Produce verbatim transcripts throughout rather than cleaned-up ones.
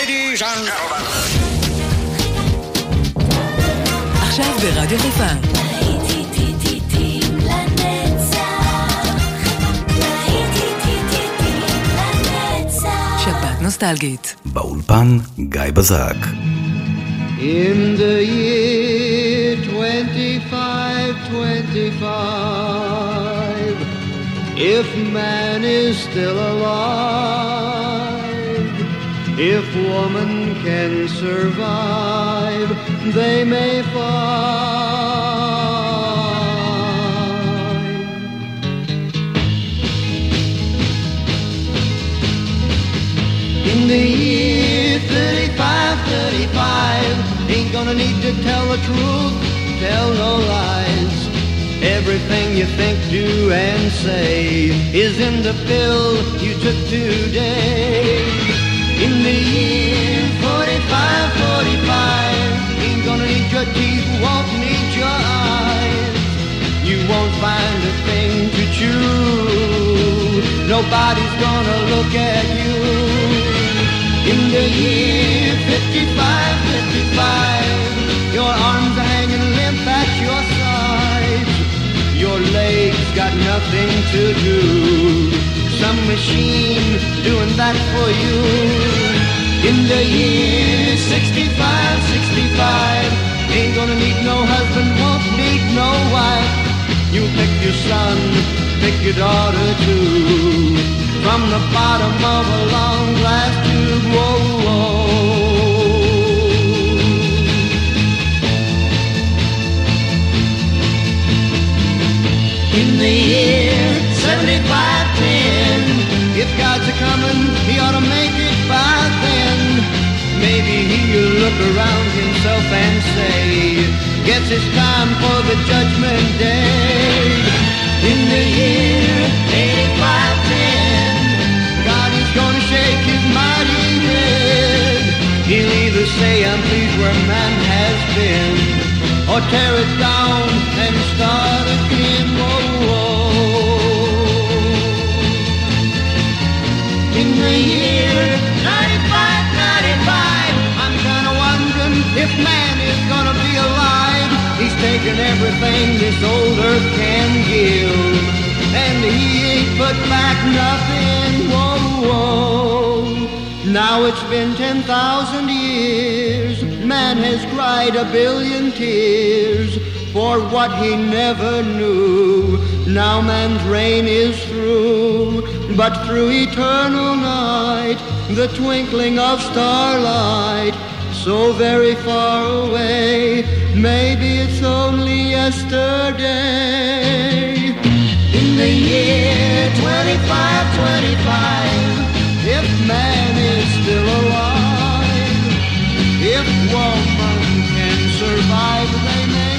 Ladies and gentlemen. עכשיו ברדיו חיפה. שבת נוסטלגית. באולפן גיא בזק. In the year twenty-five twenty-five, if man is still alive, if woman can survive, they may find. In the year thirty-five thirty-five, ain't gonna need to tell the truth, tell no lies. Everything you think, do, and say is in the pill you took today. In the year forty-five forty-five, ain't gonna need your teeth, won't need your eyes. You won't find a thing to chew, nobody's gonna look at you. In the year fifty-five fifty-five, your arms are hanging limp at your sides. Your legs got nothing to do, some machine doing that for you. In the year sixty-five sixty-five, ain't gonna need no husband, won't need no wife. You pick your son, pick your daughter too, from the bottom of a long glass tube. Whoa, whoa. In the year seventy-five ten, if God's a-comin', he ought to make it by then. Maybe he'll look around himself and say, guess it's time for the judgment day. In the year eighty-five ten, God is gonna shake his mighty head. He'll either say, I'm pleased where man has been, or tear it down and start again. Whoa, whoa. In the year ninety-five ninety-five, I'm kinda wondering if man is gonna be alive. He's taken everything this old earth can give, and he ain't put back nothing. Whoa, whoa. Now it's been ten thousand years, man has cried a billion tears for what he never knew. Now man's reign is through, but through eternal night, the twinkling of starlight, so very far away, maybe it's only yesterday. In the year twenty-five twenty-five, if man is still alive, if woman can survive, they may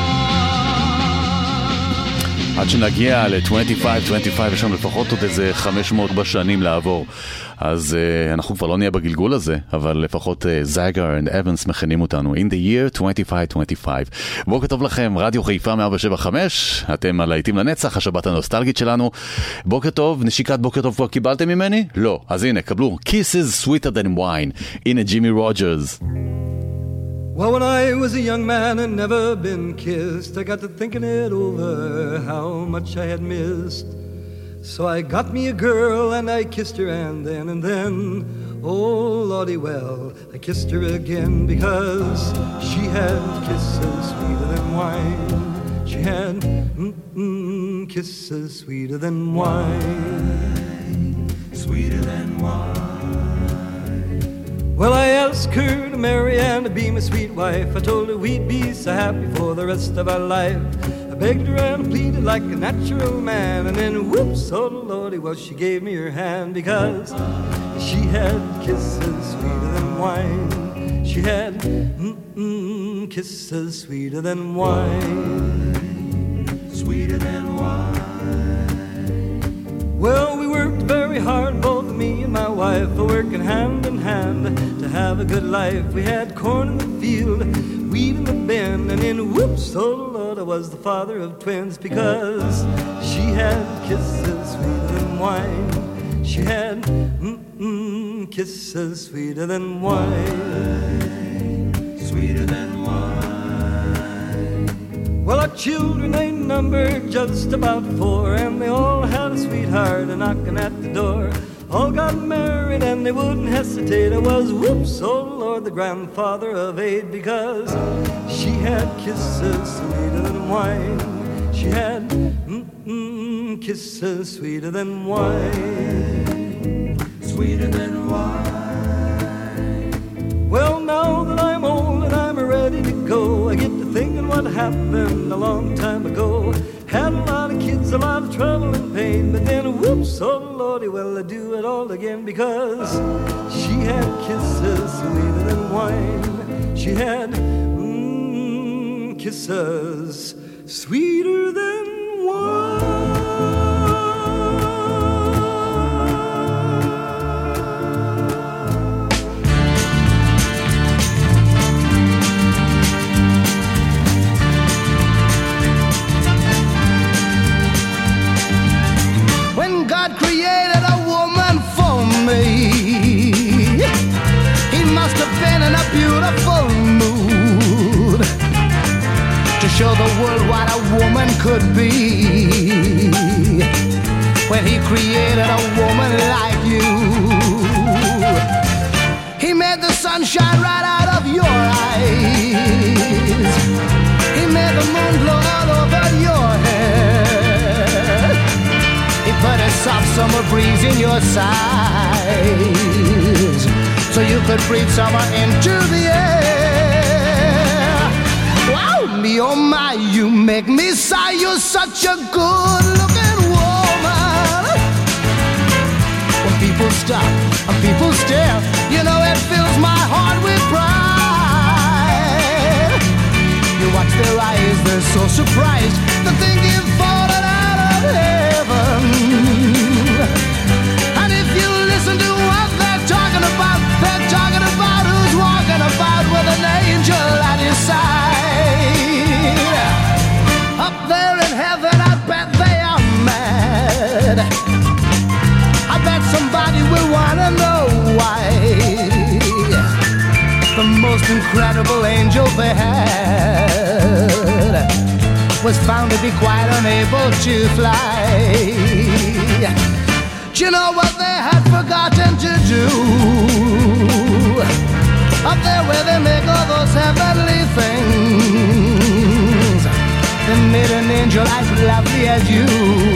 find. עד שנגיע ל-עשרים עשרים וחמש, יש לנו לפחות עוד איזה חמש מאות בשנים לעבור. אז uh, אנחנו כבר לא נהיה בגלגול הזה, אבל לפחות זייגר ואבנס מכנים אותנו. In the year twenty-five twenty-five. בוקר טוב לכם, רדיו חיפה מאה שבע חמש, אתם על להיטים לנצח, השבת הנוסטלגית שלנו. בוקר טוב, נשיקת בוקר טוב כבר קיבלתם ממני? לא. אז הנה, קבלו. Kisses sweeter than wine. הנה ג'ימי רוג'רס. Well, when I was a young man and never been kissed, I got to thinking it over, how much I had missed. So I got me a girl and I kissed her, and then and then, oh lordy, well, I kissed her again, because she had kisses sweeter than wine. She had mm-mm, kisses sweeter than wine, sweeter than wine. Well, I asked her to marry and to be my sweet wife. I told her we'd be so happy for the rest of our life. I begged her and pleaded like a natural man, and then whoops, oh lordy, well, she gave me her hand, because she had kisses sweeter than wine. She had mm-mm, kisses sweeter than wine, sweeter than wine. Well, we worked very hard, both me and my wife, working hand in hand to have a good life. We had corn in the field, weed in the bin, and then whoops, oh Lord, I was the father of twins, because she had kisses sweeter than wine. She had mm-mm, kisses sweeter than wine, sweeter than wine. Well, our children, they numbered just about four, and they all had a sweetheart a-knocking at the door. All got married and they wouldn't hesitate. It was whoops, oh Lord, the grandfather of eight, because she had kisses sweeter than wine. She had mm-mm, kisses sweeter than wine, sweeter than wine. Well, now that I'm old and I'm ready to go, I get to thinking what happened a long time ago. Had a lot of kids, a lot of trouble and pain, but then whoops, oh Lordy, well I do it all again, because she had kisses sweeter than wine. She had mm, kisses sweeter than wine. God created a woman for me. He must have been in a beautiful mood to show the world what a woman could be. When he created a woman like you, he made the sun shine right out of your eyes. He made the moon blow all over your head. He put a soft summer breeze in your sides, so you could breathe summer into the air. Wow, me oh my, you make me sigh. You're such a good-looking woman. When people stop and people stare, you know it fills my heart with pride. You watch their eyes, they're so surprised to think you've fallen out of heaven. And if you listen to what they're talking about, they're talking about who's walking about with an angel at his side. Up there in heaven, I bet they are mad. I bet somebody will wanna know why the most incredible angel they had was found to be quite unable to fly. Do you know what they had forgotten to do? Up there where they make all those heavenly things, they made an angel as lovely as you,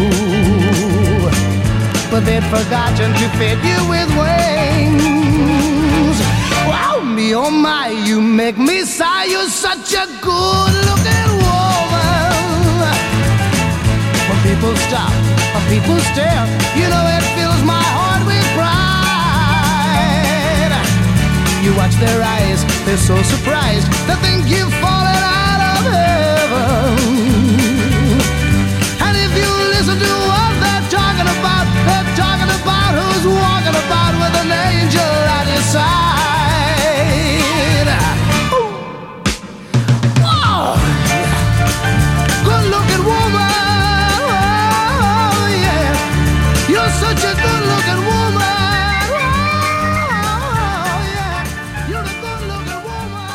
but they'd forgotten to fit you with wings. Wow, me oh my, you make me sigh. You're such a good-looking woman. When people stop, when people stare, you know it fills my heart with pride. You watch their eyes, they're so surprised, they think you've fallen out of heaven. And if you listen to what they're talking about, they're talking about who's walking about with an angel at his side. Ooh. Whoa. Good-looking woman. You're such a good-looking woman. Oh, yeah. You're a good-looking woman.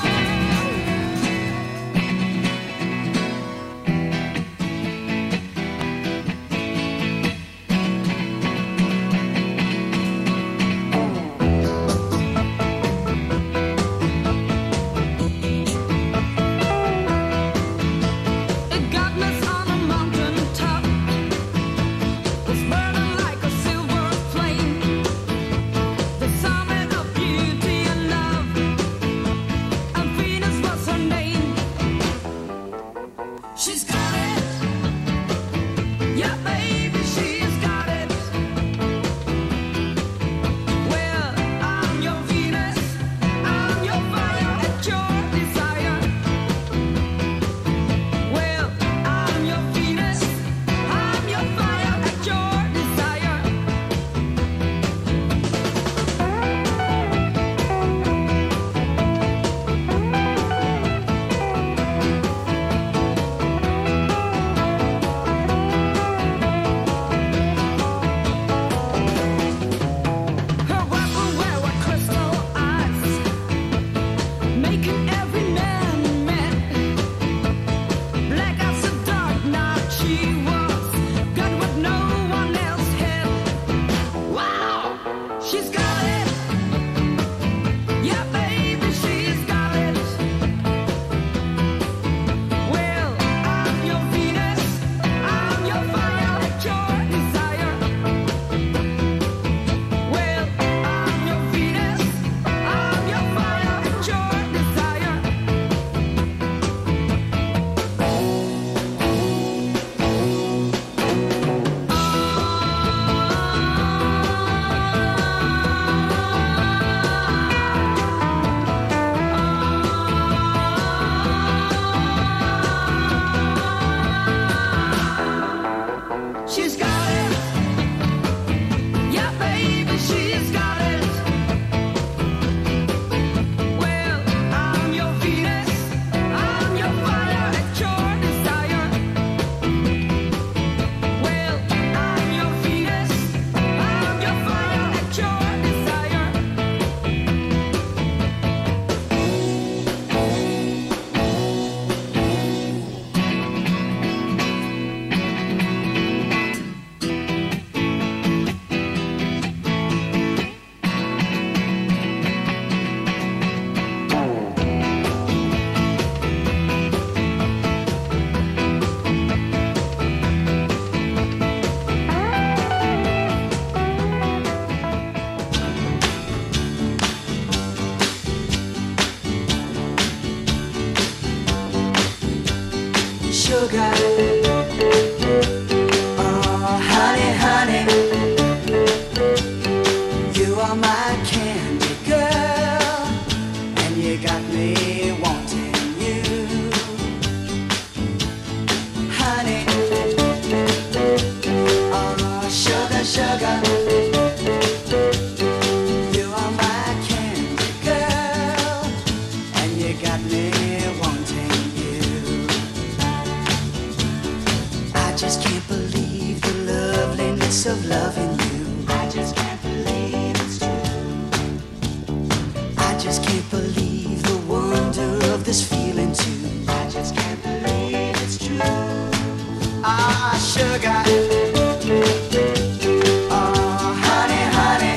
sugar. Oh, honey, honey, you are my candy girl, and you got me wanting you. Honey, oh, sugar, sugar. Of loving you, I just can't believe it's true. I just can't believe the wonder of this feeling too. I just can't believe it's true. Ah, sugar. Oh, honey, honey,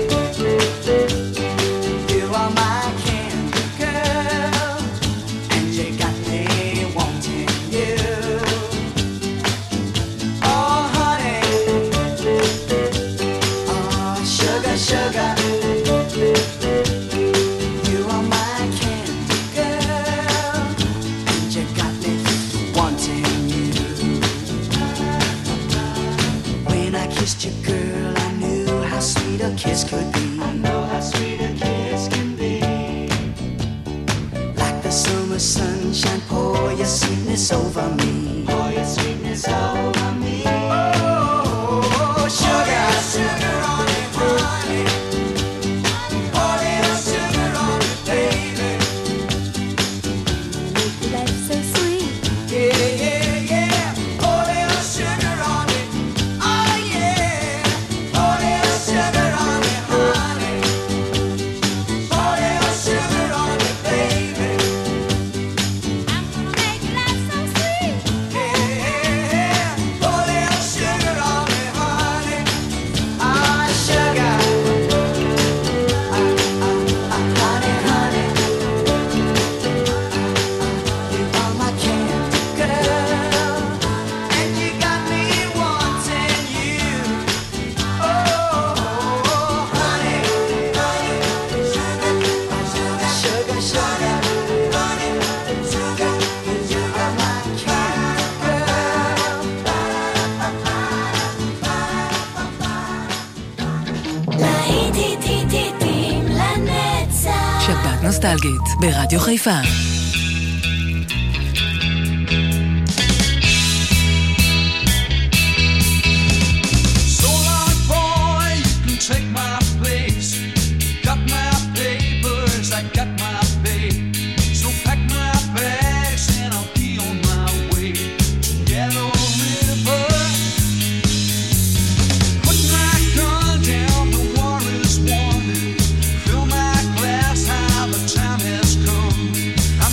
you are my candy girl, and you got me wanting you. Sugar, you are my candy girl, and you got me wanting you. When I kissed you, girl, I knew how sweet a kiss could be. I know how sweet a kiss can be. Like the summer sunshine, pour your sweetness over me. Pour your sweetness over me. Oh, sugar, sugar on it, honey. נוסטלגית ברדיו חיפה. Time has come. I'm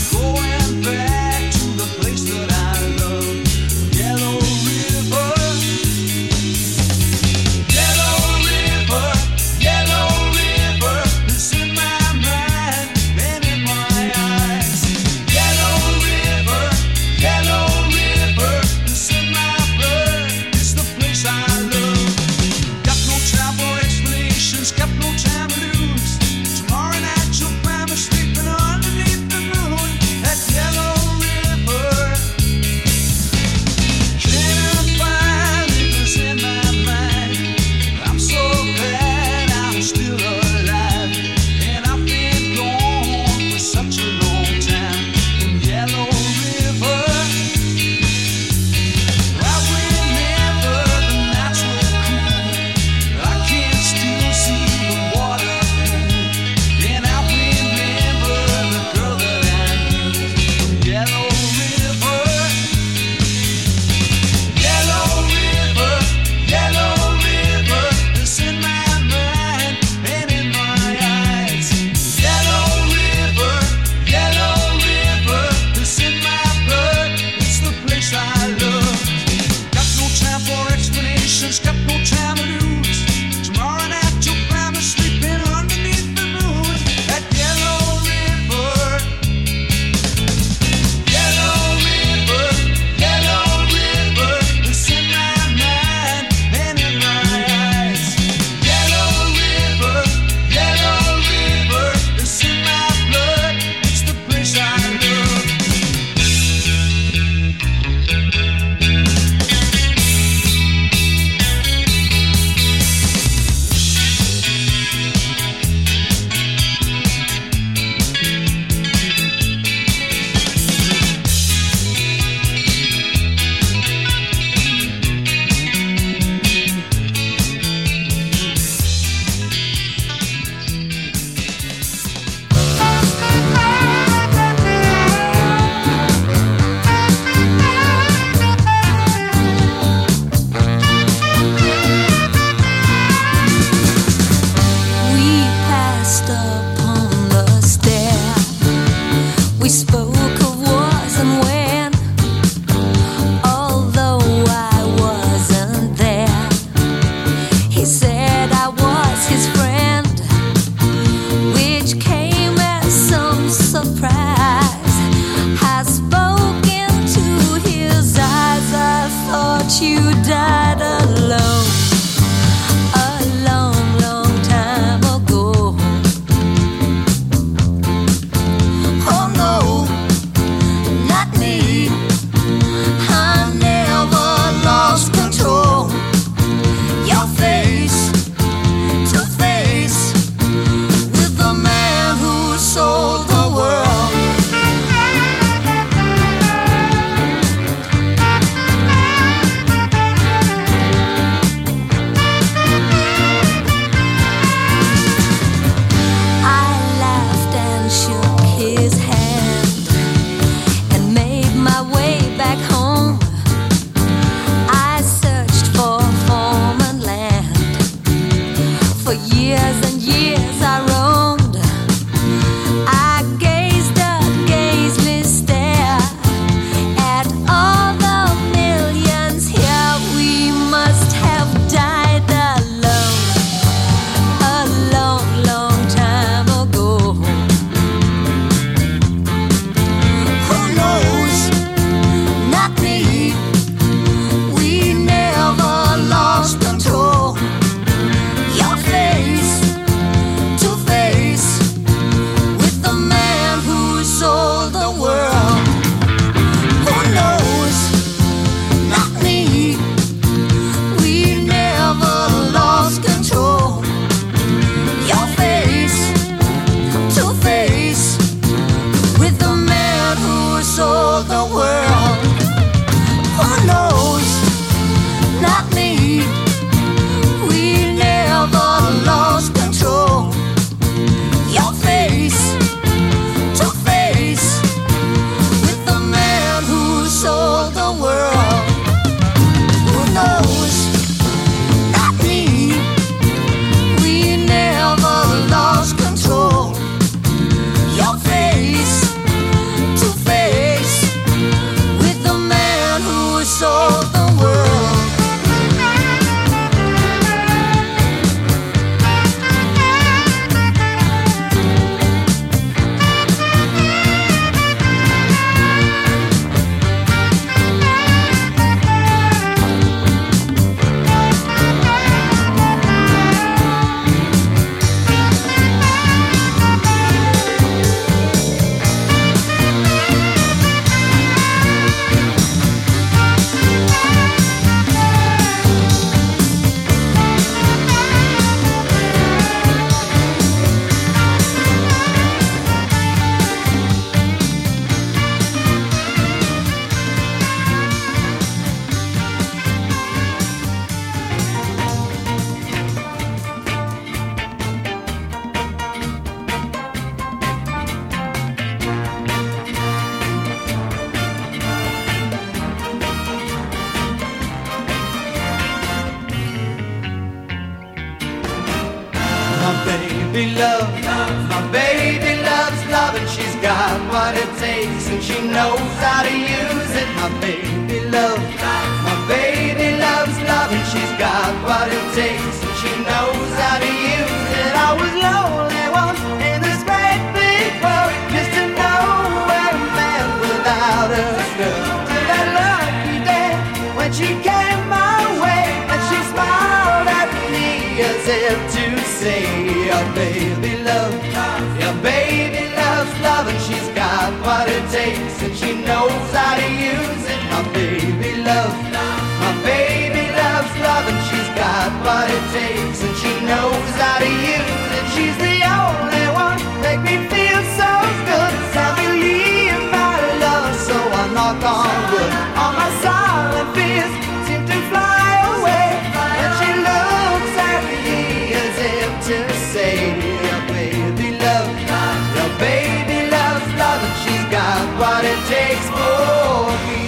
baby love. My baby loves love and she's got what it takes and she knows how to use it. My baby love. My baby loves love and she's got what it takes and she knows how to use it. I was lonely once in this great big world, just to know where a man without a girl. Till that lucky day when she came my way and she smiled at me as if to say, your baby love, your baby loves love and she's got what it takes and she knows how to use it. My baby love, my baby loves love and she's got what it takes and she knows how to use it. She's the only one make me feel so good. I believe my love, so I knock on wood. All my silent fears seem to fly away when she looks at me as if to say, your baby love, your baby loves love and she's got what it takes for me.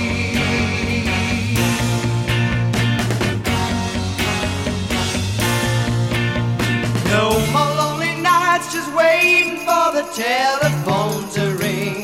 No more lonely nights just waiting for the telephone to ring.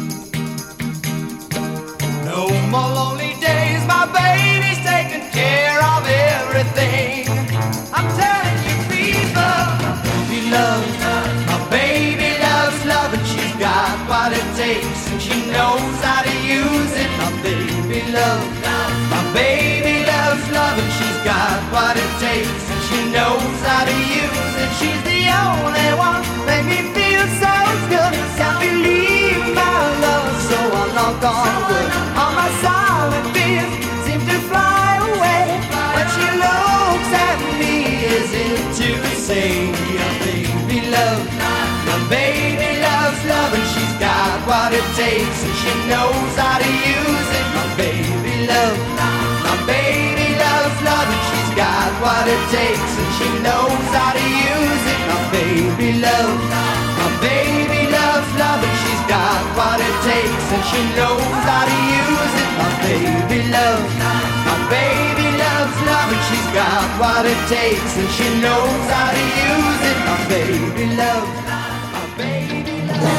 No more lonely days, my baby's taking care of everything. I'm telling you people, baby love, my baby loves love and she's got what it takes and she knows how to use it. My baby love, my baby loves love and she's got what it takes and she knows how to use it. She's the only one make me feel so good. Can't believe my love, so I knock on wood. All my silent fears seem to fly away when she looks at me as if to say, your baby love, my baby loves love and she's got what it takes and she knows how to use it. My baby love, my baby loves love and she's got what it takes and she knows how to use it. My baby love, my baby loves love and she's got what it takes and she knows how to use it. My baby love, my baby loves love and she's got what it takes and she knows how to use it. My baby love, my baby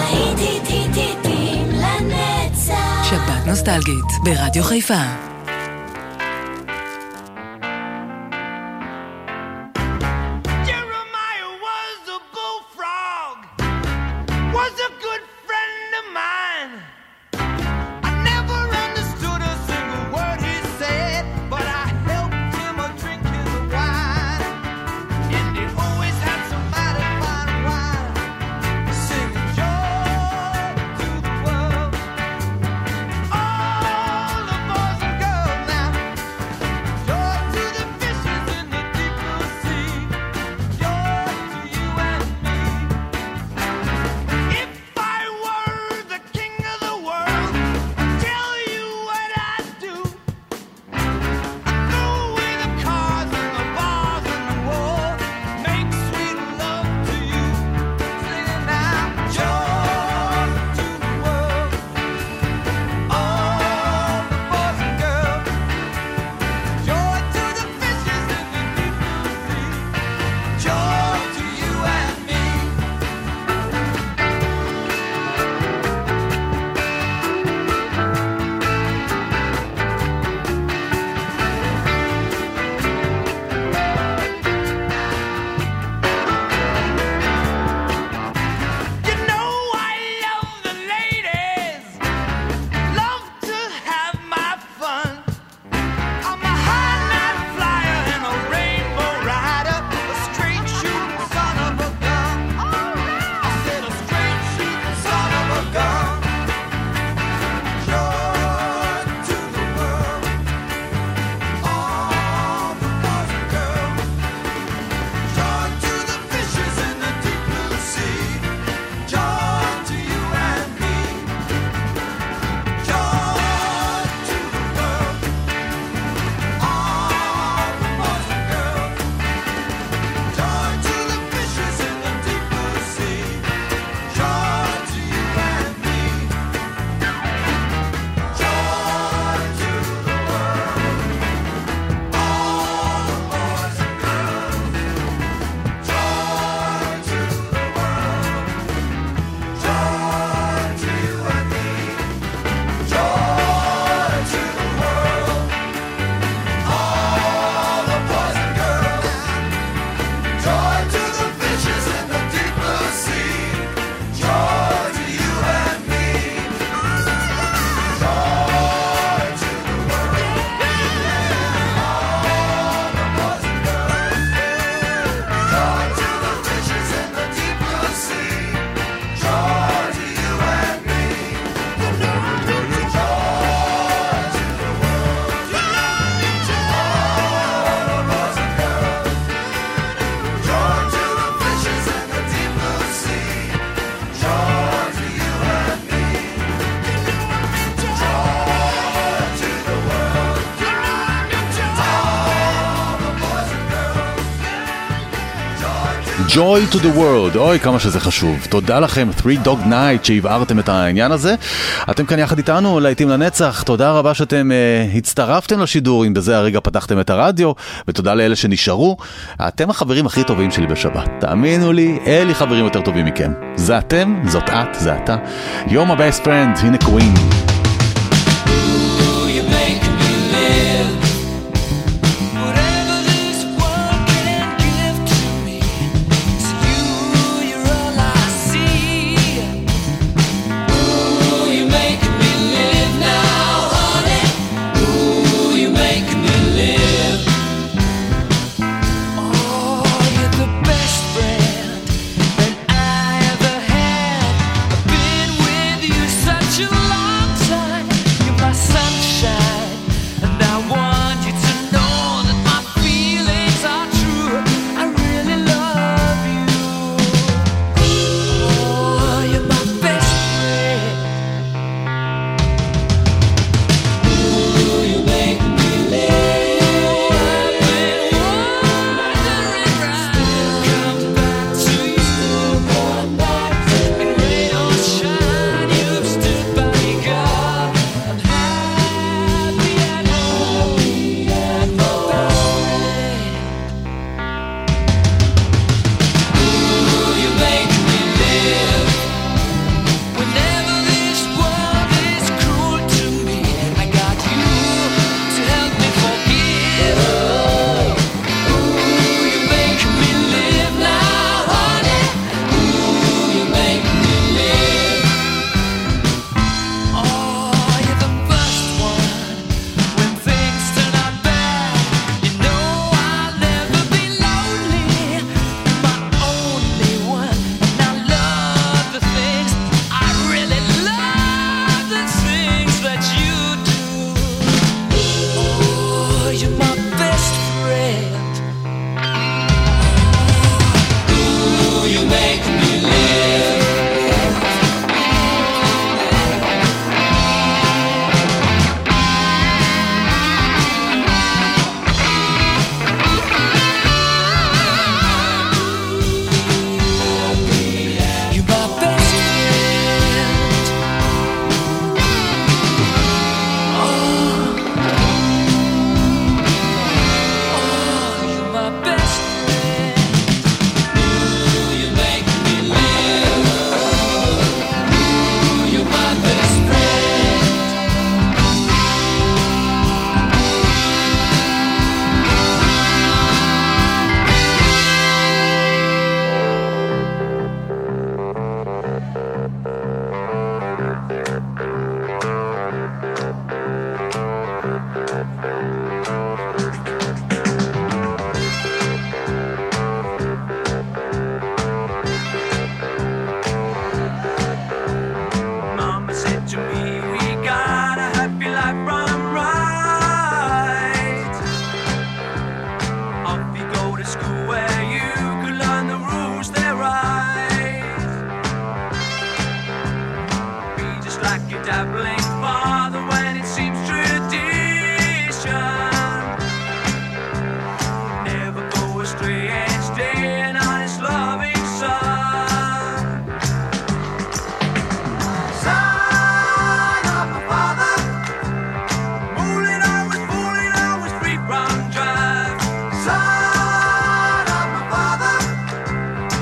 love. שבת נוסטלגית ברדיו חיפה. All the boys and girls Joy to the World, אוי כמה שזה חשוב. תודה לכם, Three Dog Night, שהבהרתם את העניין הזה. אתם כאן יחד איתנו, להיטים לנצח. תודה רבה שאתם uh, הצטרפתם לשידור, אם בזה הרגע פתחתם את הרדיו, ותודה לאלה שנשארו. אתם החברים הכי טובים שלי בשבת. תאמינו לי, אלי חברים יותר טובים מכם. זה אתם, זאת את, זה אתה. You're my best friend, הנה קווין.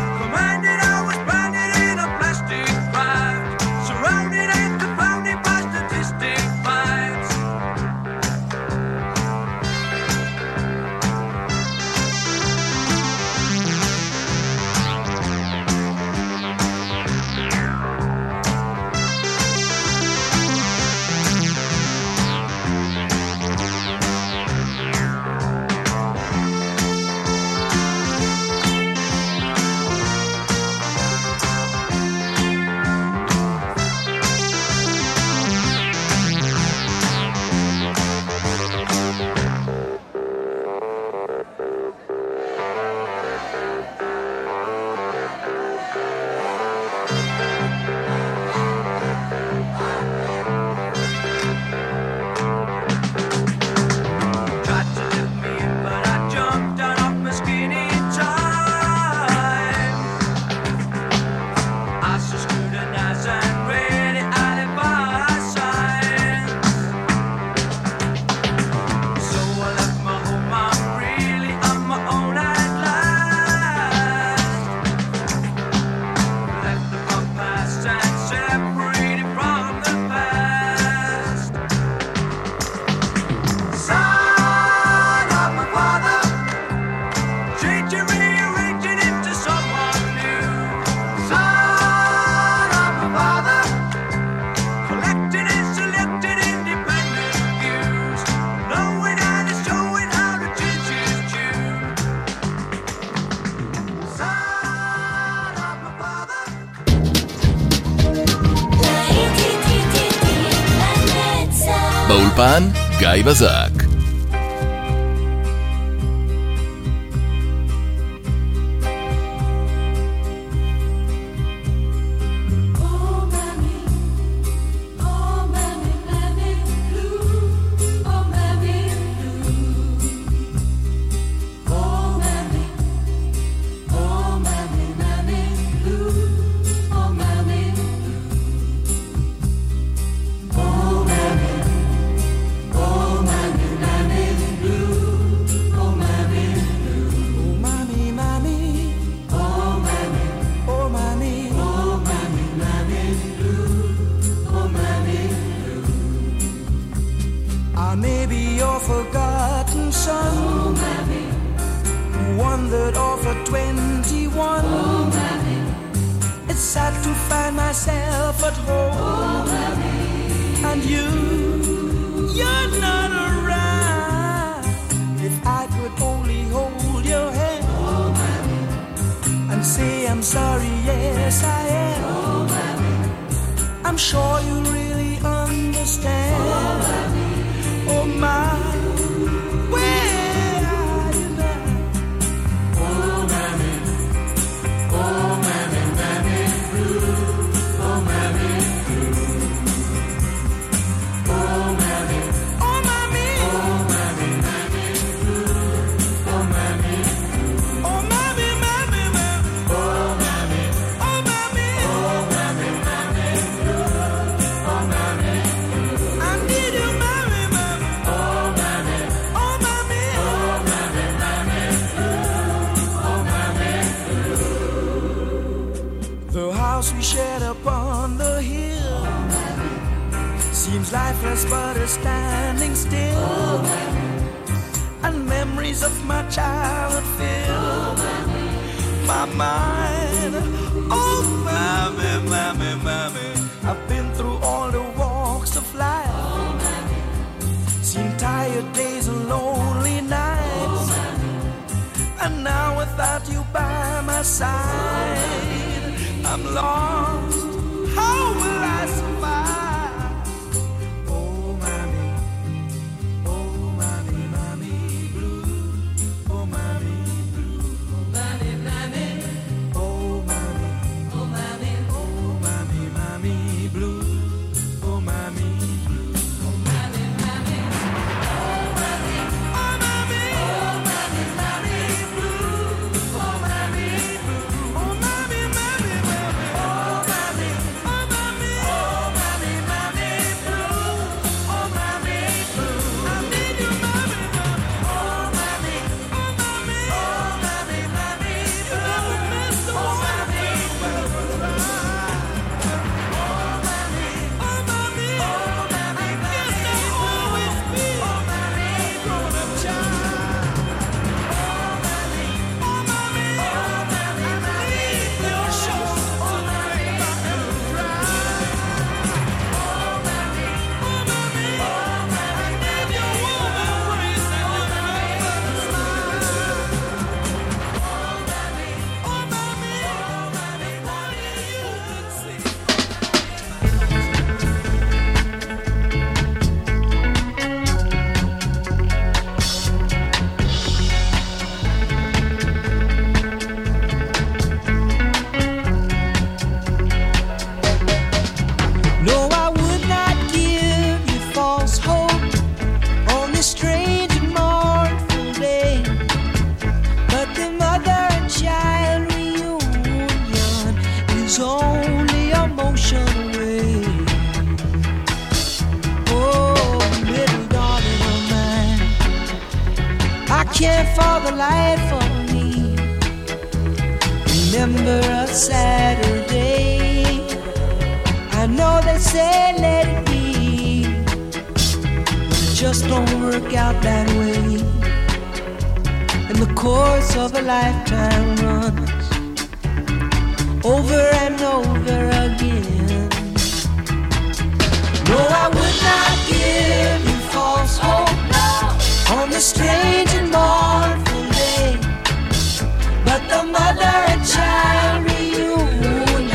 Surrounded and confounded by באולפן גיא בזק.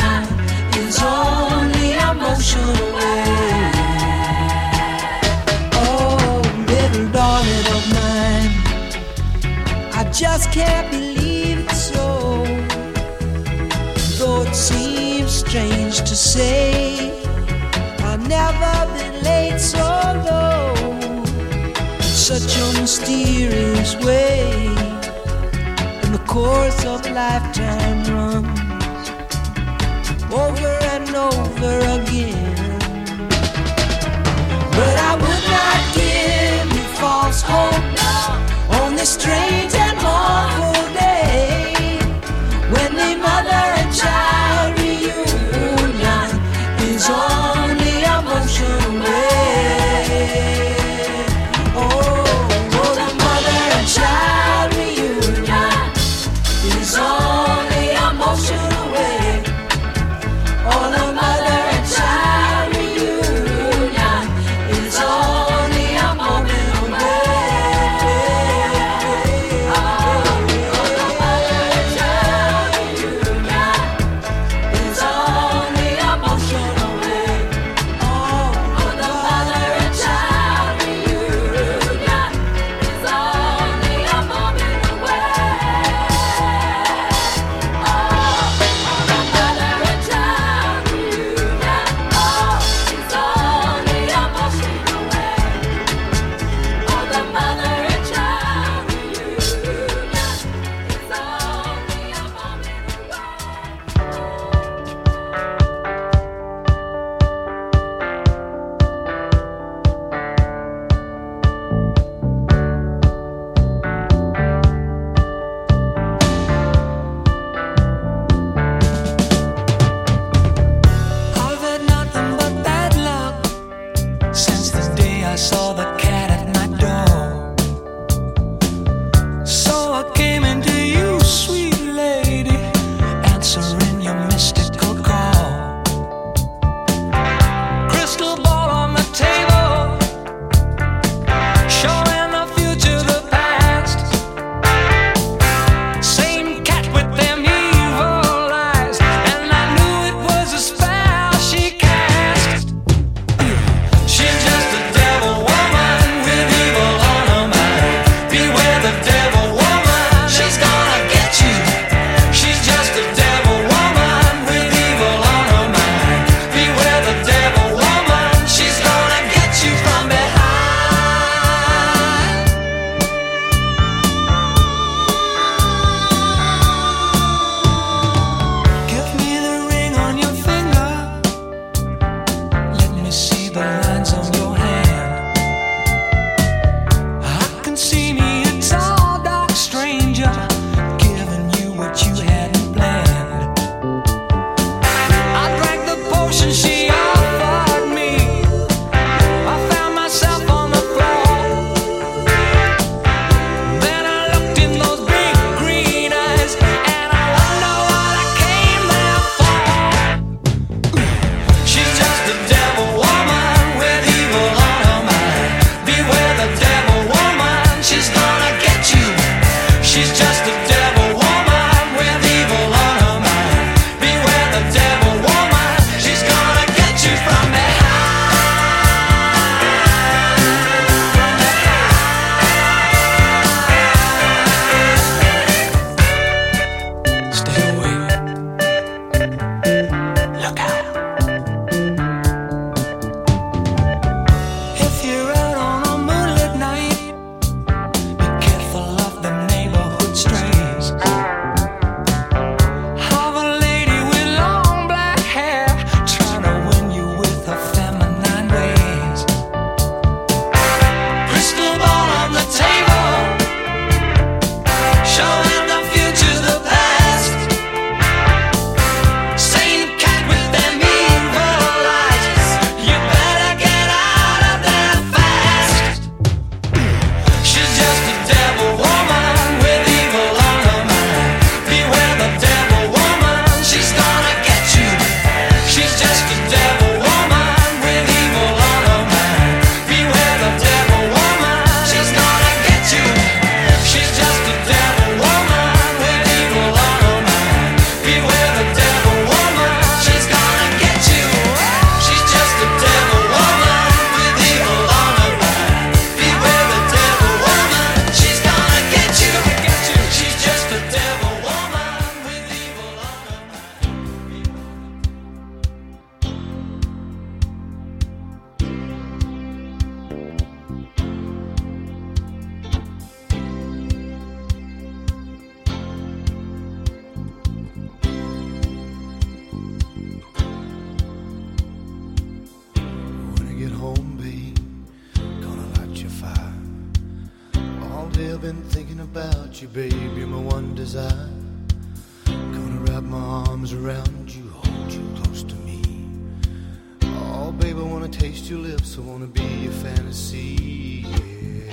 Is only emotional way. just can't believe it's so. Though it seems strange to say, I've never been late so low. Such a mysterious way, and the course of lifetime runs over and over again. But I would not give you false hope on this strange and mournful day, when the mother and child reunion is only a motion away. Oh, oh, the mother and child reunion is only a motion away. Oh, the mother and child reunion is only a moment away. Oh, the mother and child reunion is only a motion away. Oh, the mother and child reunion is only a moment away. Oh, the mother and child reunion, oh, is only a motion away. Oh, the mother and child reunion is only a I've had nothing but bad luck since the day I saw the cat at my door. So I came into you, sweet lady, answering your mystical call. Crystal ball on the table, showing the future, the past. Same cat with them evil eyes, and I knew it was a spell she cast. She's just a devil woman with evil on her mind. Beware the devil woman, she's gonna get you. She's just a devil woman with evil on her mind. Beware the devil woman, she's gonna get you from behind. Give me the ring on your finger. Let me see the lines on your hand. I can see me a tall, dark stranger giving you what you hadn't planned. I drank the potion she offered me. I found myself on the floor. Then I looked in those big green eyes, and I wonder what I came there for. She's just a devil woman with home, babe. Gonna light your fire. All day I've been thinking about you, babe. You're my one desire. Gonna wrap my arms around you, hold you close to me. Oh, babe, I wanna taste your lips. I wanna be your fantasy, yeah.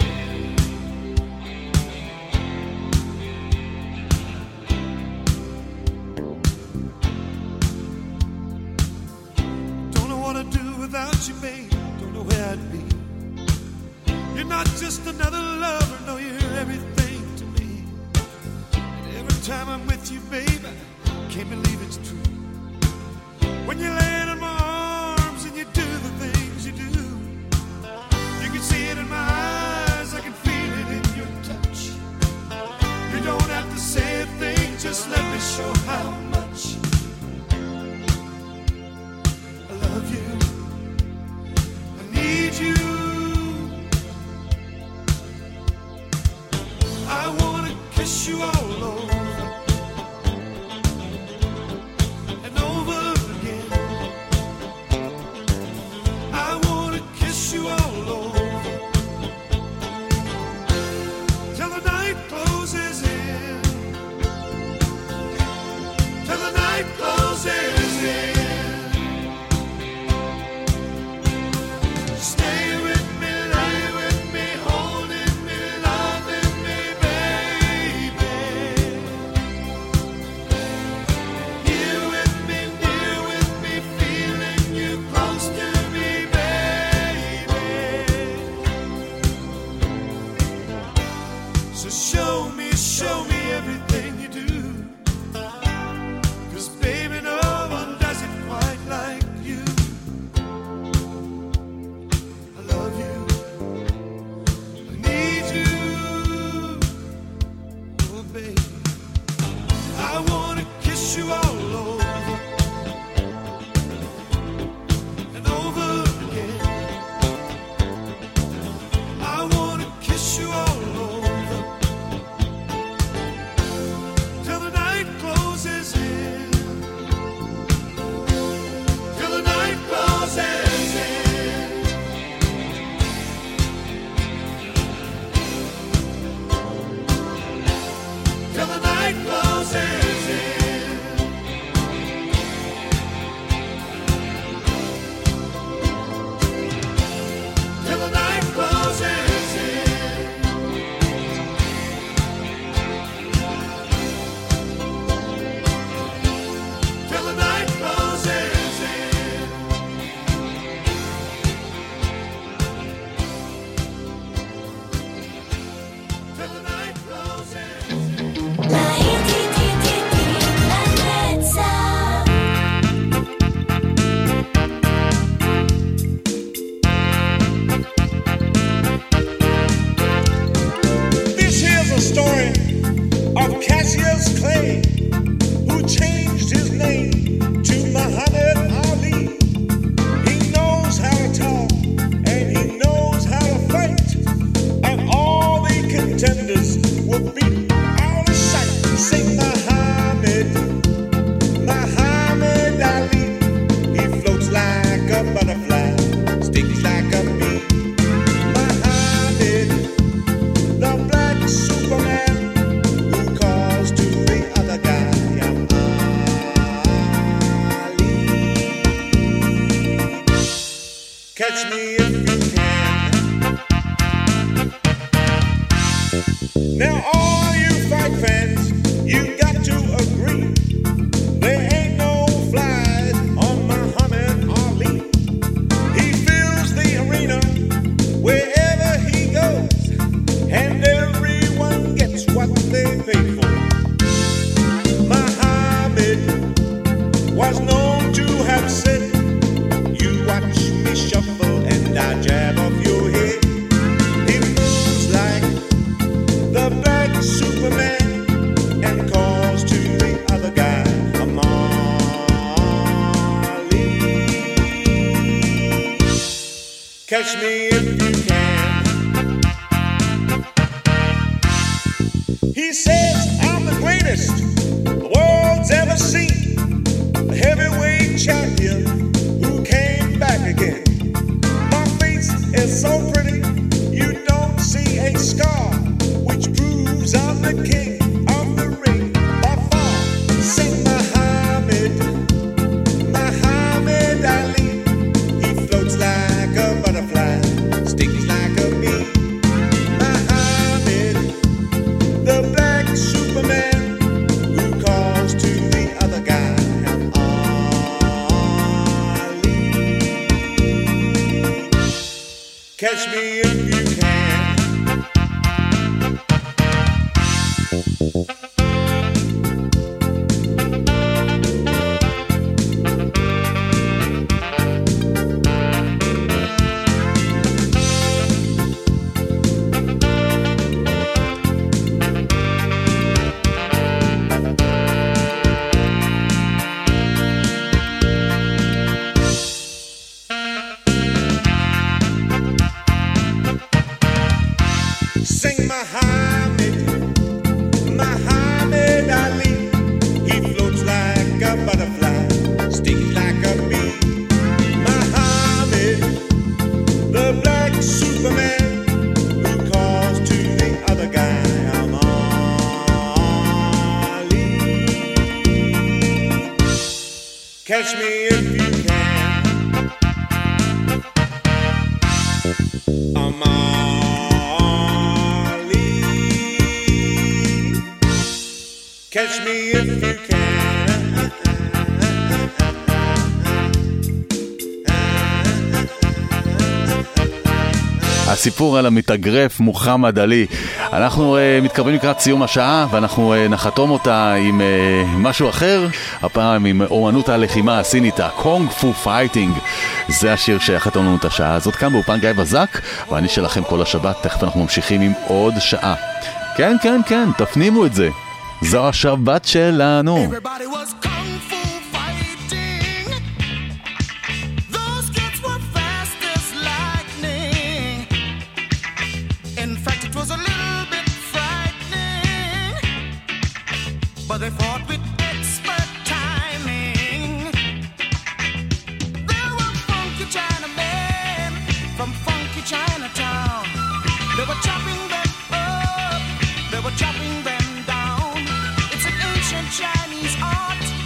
Don't know what I'd do without you, babe. Don't know where I'd be. You're not just another lover, no, you're everything to me. And every time I'm with you, babe, I can't believe it's true. When you land in my arms and you do the things you do, you can see it in my eyes, I can feel it in your touch. You don't have to say a thing, just let me show how much I love you. I need you. I wanna kiss you all over and over again. I wanna kiss you all over till the night closes in. Till the night closes in. Stay with me, lay with me, holding me, loving me, baby. Here with me, near with me, feeling you close to me, baby. So show me, show me everything you do. 'Cause baby, no one does it quite like you. I love you. I need you. Oh, baby. I wanna kiss you all over and over again. I wanna kiss you all over till the night closes in. Till the night closes in. Till the night closes in. Till the night closes in. Till the night closes in. Till the night closes in. This here's a story of Cassius Clay, who changed his name to Muhammad Ali. He knows how to talk and he knows how to fight, and all the contenders will be out of sight. Sing Muhammad, Muhammad Ali. He floats like a butterfly, stings like a bee. Muhammad, the black Superman, who calls to the other guy, I'm Ali. Catch me if you can. Now all you fight fans, you got to agree, there ain't no flies on Muhammad Ali. He fills the arena wherever he goes, and everyone gets what they pay for. Muhammad was known to have said, you watch me shuffle and I jab off your head. He moves like the black Superman and calls to the other guy, I'm Ali. Catch me if you can. He says, I'm the greatest the world's ever seen, a heavyweight champion who came back again. My faith Catch me if you can. Sing Muhammad, Muhammad Ali. He floats like a butterfly, stings like a bee. Muhammad, the black Superman, who calls to the other guy, I'm Ali. Catch me if you can. I'm Ali. Catch me if you can. הסיפור על המתאגרף מוחמד עלי. אנחנו uh, מתקרבים לקראת סיום השעה, ואנחנו uh, נחתום אותה עם uh, משהו אחר, הפעם עם אומנות הלחימה הסינית, הקונג פו פייטינג. זה השיר שיחתום לנו את השעה הזאת כאן באופן גיא בזק, ואני שלכם כל השבת. תכף אנחנו ממשיכים עם עוד שעה. כן, כן, כן, תפנימו את זה. זו השבת שלנו. Everybody was kung fu fighting. Those kids were fast as lightning. In fact, it was a little bit frightening. But they fought with expert timing. There were funky Chinamen from funky Chinatown. They were chopping them up. They were chopping them down. Chinese art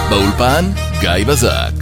באולפן גיא בזק.